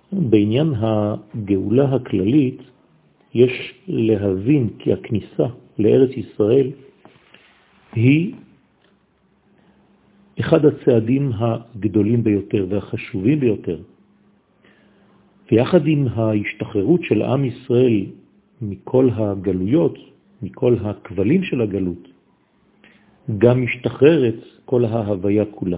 בעניין הגאולה הכללית, יש להבין כי הכניסה לארץ ישראל היא אחד הצעדים הגדולים ביותר והחשובים ביותר. ויחד עם ההשתחררות של עם ישראל מכל הגלויות, מכל הכבלים של הגלות, גם משתחררת כל ההוויה כולה.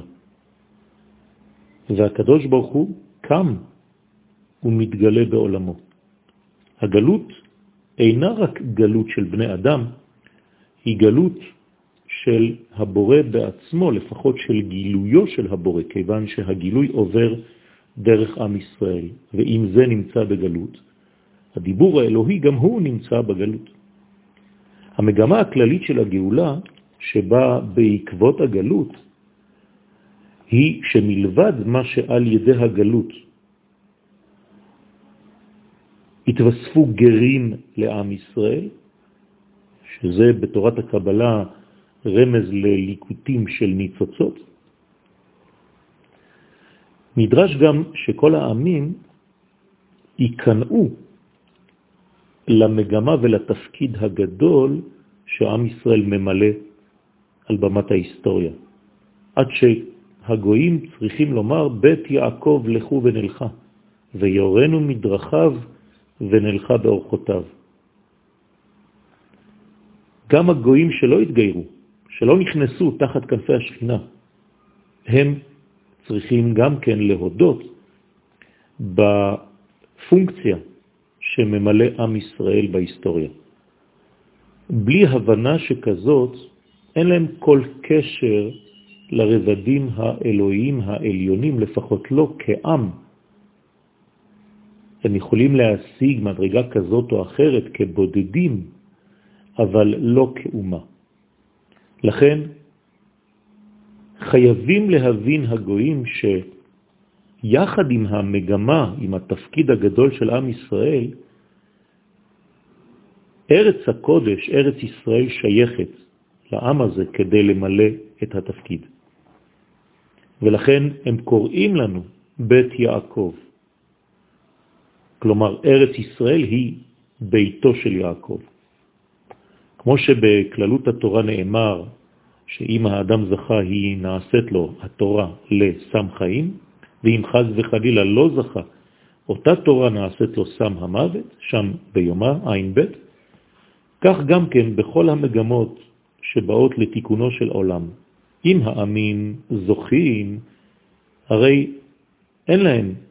והקדוש ברוך הוא קם ומתגלה בעולמו. הגלות אינה רק גלות של בני אדם, היא גלות של הבורא בעצמו, לפחות של גילויו של הבורא, כיוון שהגילוי עובר דרך עם ישראל, ואם זה נמצא בגלות, הדיבור האלוהי גם הוא נמצא בגלות. המגמה הכללית של הגאולה, שבאה בעקבות הגלות, היא שמלבד מה שעל ידי הגלות התווספו גרים לעם ישראל, שזה בתורת הקבלה רמז לליקוטים של ניצוצות, נדרש גם שכל העמים ייכנעו למגמה ולתפקיד הגדול שעם ישראל ממלא על במת ההיסטוריה. עד שהגויים צריכים לומר, בית יעקב לכו ונלכה, ויורנו מדרכיו ונלכה באורחותיו. גם הגויים שלא התגיירו, שלא נכנסו תחת כנפי השכינה, הם צריכים גם כן להודות בפונקציה שממלא עם ישראל בהיסטוריה. בלי הבנה שכזאת, אין להם כל קשר לרבדים האלוהיים העליונים, לפחות לא כעם. הם יכולים להשיג מדרגה כזאת או אחרת כבודדים, אבל לא כאומה. לכן, חייבים להבין הגויים שיחד עם המגמה, עם התפקיד הגדול של עם ישראל, ארץ הקודש, ארץ ישראל שייכת לעם הזה כדי למלא את התפקיד. ולכן הם קוראים לנו בית יעקב. כלומר, ארץ ישראל היא ביתו של יעקב. כמו שבכללות התורה נאמר שאם האדם זכה היא נעשית לו התורה לסם חיים, ואם חז וחלילה לא זכה, אותה תורה נעשית לו סם המוות, שם ביומה, עין בית. כך גם כן בכל המגמות שבאות לתיקונו של עולם. אם העמים זוכים, הרי אין להם